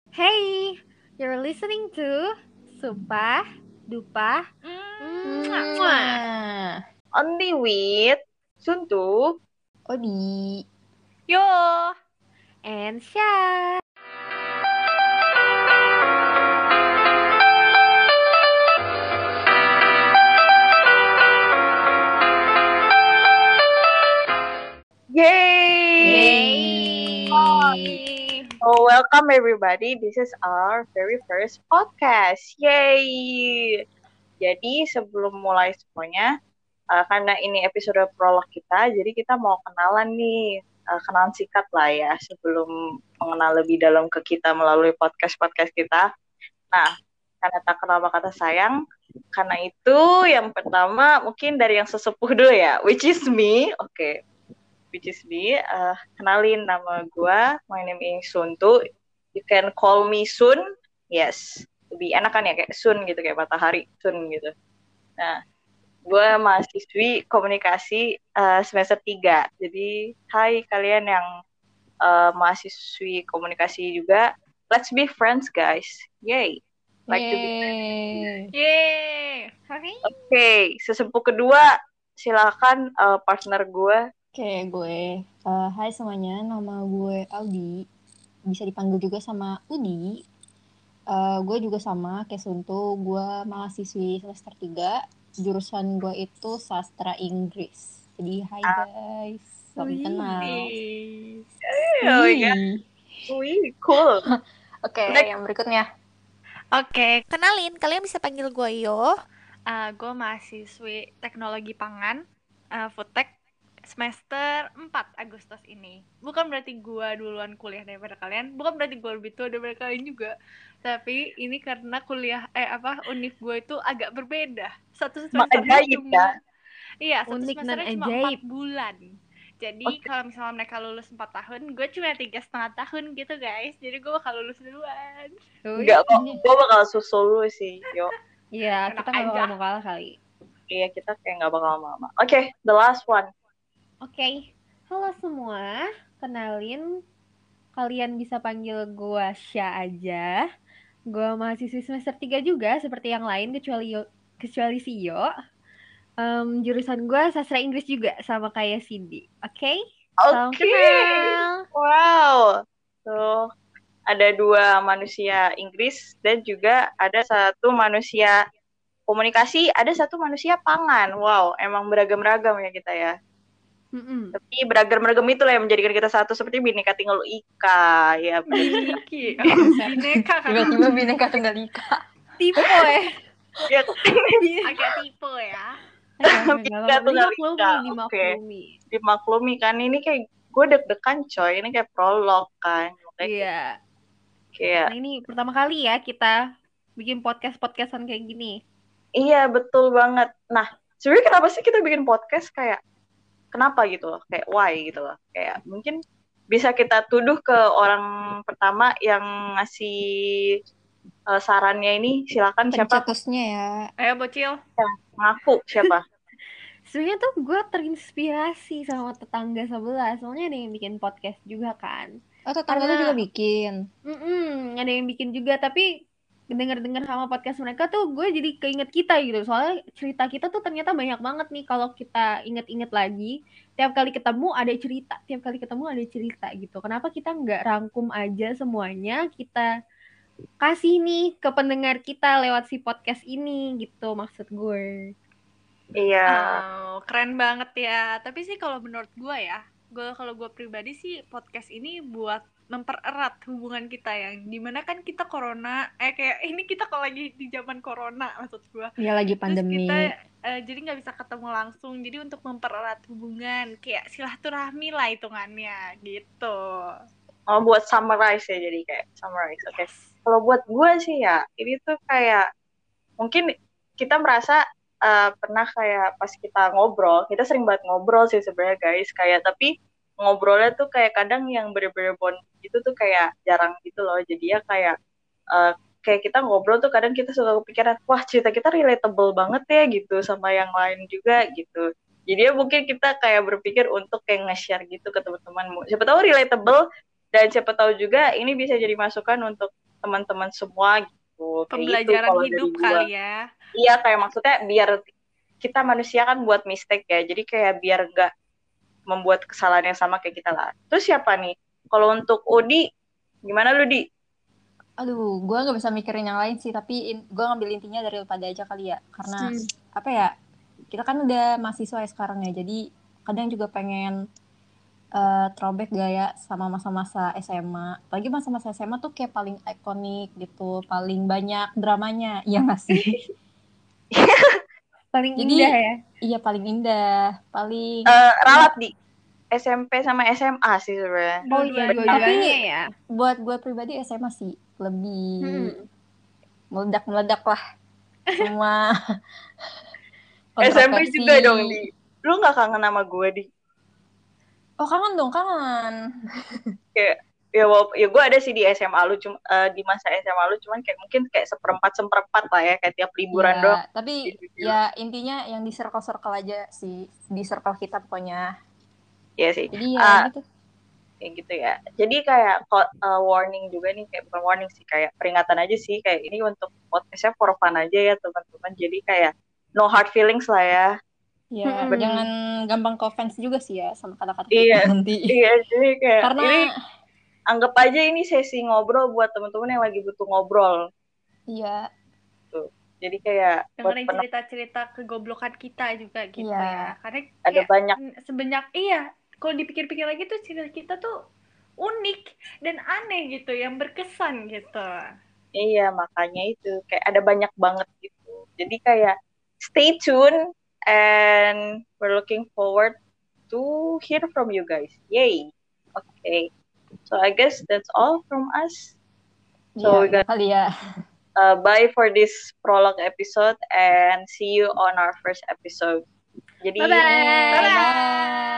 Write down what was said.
Hey, you're listening to Sumpah Dupa Mwah. Only with Suntu. Odi. Yo and Syah. Yay! So welcome everybody. This is our very first podcast. Yay! Jadi sebelum mulai semuanya, karena ini episode prolog kita, jadi kita mau kenalan nih, kenalan singkat lah ya sebelum mengenal lebih dalam ke kita melalui podcast kita. Nah, karena tak kenal maka tak sayang, karena itu yang pertama mungkin dari yang sesepuh dulu ya, which is me. Oke. Which is me, kenalin nama gue, my name is Suntu, you can call me Sun, yes, lebih enak kan ya, kayak Sun gitu, kayak matahari, Sun gitu. Nah, gue mahasiswi komunikasi semester 3, jadi hai kalian yang mahasiswi komunikasi juga, let's be friends guys, yay, like to be friends. Yeay. Oke, sesepuh kedua, silakan partner gue. Oke, gue. Hai semuanya, nama gue Audi. Bisa dipanggil juga sama Udi. Gue juga sama kayak Suntu. Gue mahasiswi semester 3. Jurusan gue itu sastra Inggris. Jadi hai guys. Salam kenal. Oh my god. Wih, cool. Oke, yang berikutnya. Oke, kenalin, kalian bisa panggil gue Yo. Gue mahasiswi teknologi pangan, Foodtech, semester 4 Agustus ini. Bukan berarti gue duluan kuliah daripada kalian, bukan berarti gue lebih tua daripada kalian juga. Tapi ini karena univ gue itu agak berbeda. Satu semesternya cuma iya, satu Unik dan semesternya cuma ajaib. 4 bulan. Jadi kalau misalnya mereka lulus 4 tahun, gue cuma 3,5 tahun gitu guys. Jadi gue bakal lulus duluan. Enggak kok, gue bakal susul lu sih, Yo. Iya, Enak kita nggak aja. bakal kalah kali. Iya, kita kayak nggak bakal lama-lama. Oke, the last one. Oke, halo semua. Kenalin, kalian bisa panggil gue Syah aja. Gue mahasiswi semester 3 juga, seperti yang lain, kecuali si Yo. Jurusan gue sastra Inggris juga, sama kayak Cindy. Oke? Salam Oke. kenal. Wow. So, ada 2 manusia Inggris dan juga ada 1 manusia komunikasi, ada 1 manusia pangan. Wow, emang beragam-ragam ya kita ya. Tapi beragam-ragam itulah yang menjadikan kita satu, seperti Bhinneka Tunggal Ika ya. Bineka kan. Tiba-tiba Bhinneka Tunggal Ika. Tipe ya. Ya, Agak tipe ya. Bhinneka Tunggal Ika. Dimaklumi kan, ini kayak gue deg-degan coy, ini kayak prolog kan. Iya. Kayak Nah, ini pertama kali ya kita bikin podcastan kayak gini. iya, betul banget. Nah, sebenarnya kenapa sih kita bikin podcast, kayak kenapa gitu loh, kayak why gitu loh. Kayak mungkin bisa kita tuduh ke orang pertama yang ngasih sarannya ini, silakan siapa? Pencetusnya ya. Ayo bocil. Ngaku siapa? Sebenarnya tuh gue terinspirasi sama tetangga sebelah. Soalnya ada yang bikin podcast juga kan. Oh, tetangga lu juga bikin? Ada yang bikin juga, tapi denger-denger sama podcast mereka tuh gue jadi keinget kita gitu. Soalnya cerita kita tuh ternyata banyak banget nih kalau kita inget-inget lagi. Tiap kali ketemu ada cerita gitu. Kenapa kita nggak rangkum aja semuanya, kita kasih nih ke pendengar kita lewat si podcast ini gitu, maksud gue. Iya. Keren banget ya. Tapi sih kalau menurut gue ya, kalau gue pribadi sih podcast ini buat mempererat hubungan kita, yang dimana kan kita corona, kayak ini kita kalau lagi di zaman corona maksud gue. Ya lagi pandemi. Terus kita jadi nggak bisa ketemu langsung, jadi untuk mempererat hubungan, kayak silaturahmi lah hitungannya gitu. Oh, buat summarize ya, jadi kayak summarize. Oke. Kalau buat gue sih ya, ini tuh kayak mungkin kita merasa pernah kayak pas kita ngobrol, kita sering banget ngobrol sih sebenarnya guys, kayak tapi ngobrolnya tuh kayak kadang yang bener-bener bond gitu tuh kayak jarang gitu loh. Jadi ya kayak kayak kita ngobrol tuh kadang kita suka kepikiran, wah cerita kita relatable banget ya gitu sama yang lain juga gitu. Jadi ya mungkin kita kayak berpikir untuk kayak nge-share gitu ke teman-teman. Siapa tahu relatable, dan siapa tahu juga ini bisa jadi masukan untuk teman-teman semua gitu. Kayak gitu Pembelajaran kalau dari hidup gua. kali ya. Iya, kayak maksudnya biar kita manusia kan buat mistake ya. Jadi kayak biar nggak membuat kesalahan yang sama kayak kita lah. Terus siapa nih? Kalau untuk Udi, gimana lu, Di? Aduh, gue nggak bisa mikirin yang lain sih, tapi gue ngambil intinya dari pada aja kali ya. Karena apa ya, kita kan udah mahasiswa ya sekarang ya, jadi kadang juga pengen throwback gaya sama masa-masa SMA. Apalagi masa-masa SMA tuh kayak paling ikonik gitu, paling banyak dramanya, iya nggak sih? Paling Jadi, indah ya. iya paling indah, paling Ralat di SMP sama SMA sih sebenarnya. Oh iya, Dua-duanya tapi ya. buat gue pribadi SMA sih lebih meledak-meledak lah semua SMP kontroversi. juga dong, Di. Lu nggak kangen sama gue, Di? Oh kangen dong, kangen. Kayak ya gue ada sih di SMA lu, cuma di masa SMA lu, cuman kayak mungkin kayak seperempat lah ya, kayak tiap liburan Iya, doang. tapi ya intinya yang di circle-circle aja sih, di circle kita pokoknya. Iya sih. Jadi ya gitu. Kayak gitu ya. Jadi kayak warning juga nih, kayak bukan warning sih, kayak peringatan aja sih, kayak ini untuk podcastnya for fun aja ya teman-teman. Jadi kayak no hard feelings lah ya. Ya, jangan gampang ke offense juga sih ya sama kata-kata Iya, kita nanti. iya, jadi kayak Karena ini anggap aja ini sesi ngobrol buat teman-teman yang lagi butuh ngobrol. iya. Tuh. Jadi kayak dengerin cerita-cerita kegoblokan kita juga gitu Iya. ya. Karena ada kayak banyak sebanyak kalau dipikir-pikir lagi tuh cerita kita tuh unik dan aneh gitu, yang berkesan gitu. Iya, makanya itu kayak ada banyak banget gitu. Jadi kayak stay tune and we're looking forward to hear from you guys. Yay. Okay. So I guess that's all from us. So we got kali ya. bye for this prologue episode and see you on our first episode. Jadi Bye-bye. Bye.